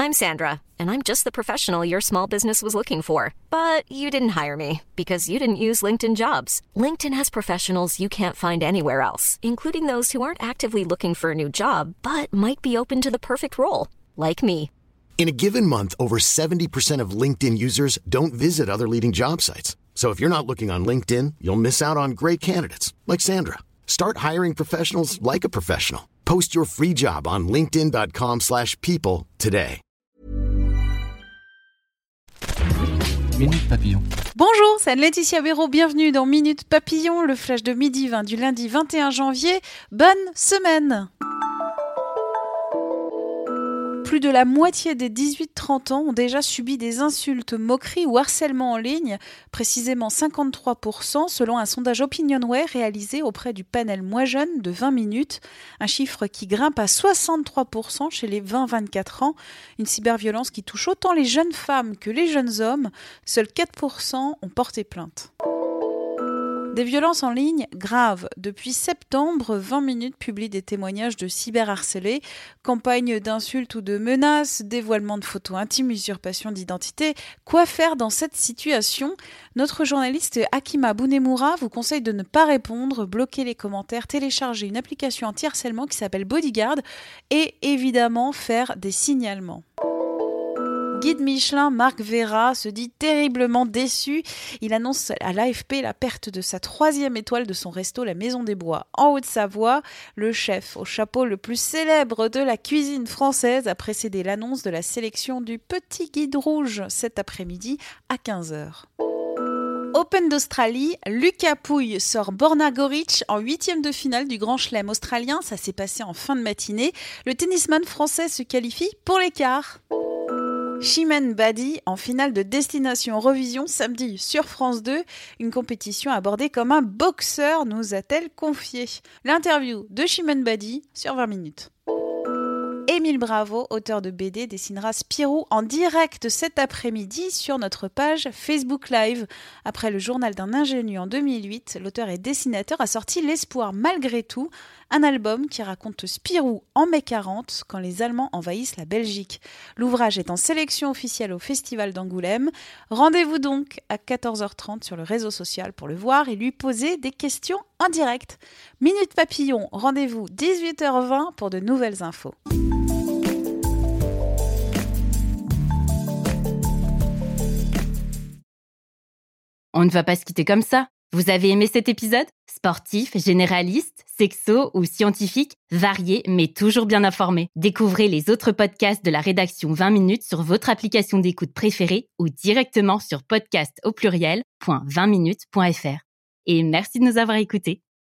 I'm Sandra, and I'm just the professional your small business was looking for. But you didn't hire me because you didn't use LinkedIn Jobs. LinkedIn has professionals you can't find anywhere else, including those who aren't actively looking for a new job, but might be open to the perfect role, like me. In a given month, over 70% of LinkedIn users don't visit other leading job sites. So if you're not looking on LinkedIn, you'll miss out on great candidates like Sandra. Start hiring professionals like a professional. Post your free job on linkedin.com/people today. Minute Papillon. Bonjour, c'est Laetitia Béraud, bienvenue dans Minute Papillon, le flash de midi 20 du lundi 21 janvier. Bonne semaine! Plus de la moitié des 18-30 ans ont déjà subi des insultes, moqueries ou harcèlement en ligne, précisément 53% selon un sondage Opinionway réalisé auprès du panel Moi Jeune de 20 minutes, un chiffre qui grimpe à 63% chez les 20-24 ans, une cyberviolence qui touche autant les jeunes femmes que les jeunes hommes, seuls 4% ont porté plainte. Des violences en ligne graves. Depuis septembre, 20 minutes publie des témoignages de cyberharcelés, campagnes d'insultes ou de menaces, dévoilement de photos intimes, usurpation d'identité. Quoi faire dans cette situation ? Notre journaliste Hakima Bounemoura vous conseille de ne pas répondre, bloquer les commentaires, télécharger une application anti-harcèlement qui s'appelle Bodyguard et évidemment faire des signalements. Guide Michelin Marc Vera se dit terriblement déçu. Il annonce à l'AFP la perte de sa 3e étoile de son resto La Maison des Bois en Haute-Savoie. Le chef au chapeau le plus célèbre de la cuisine française a précédé l'annonce de la sélection du Petit Guide Rouge cet après-midi à 15h. Open d'Australie, Lucas Pouille sort Borna Goric en 8e de finale du Grand Chelem australien. Ça s'est passé en fin de matinée. Le tennisman français se qualifie pour les quarts. Chimène Badi en finale de Destination Eurovision samedi sur France 2, une compétition abordée comme un boxeur, nous a-t-elle confié. L'interview de Chimène Badi sur 20 minutes. Émile Bravo, auteur de BD, dessinera Spirou en direct cet après-midi sur notre page Facebook Live. Après le journal d'un ingénu en 2008, l'auteur et dessinateur a sorti L'espoir malgré tout, un album qui raconte Spirou en mai 40 quand les Allemands envahissent la Belgique. L'ouvrage est en sélection officielle au Festival d'Angoulême. Rendez-vous donc à 14h30 sur le réseau social pour le voir et lui poser des questions en direct. Minute Papillon, rendez-vous 18h20 pour de nouvelles infos. On ne va pas se quitter comme ça. Vous avez aimé cet épisode ? Sportif, généraliste, sexo ou scientifique, varié mais toujours bien informé. Découvrez les autres podcasts de la rédaction 20 minutes sur votre application d'écoute préférée ou directement sur podcast@20minutes.fr. Et merci de nous avoir écoutés.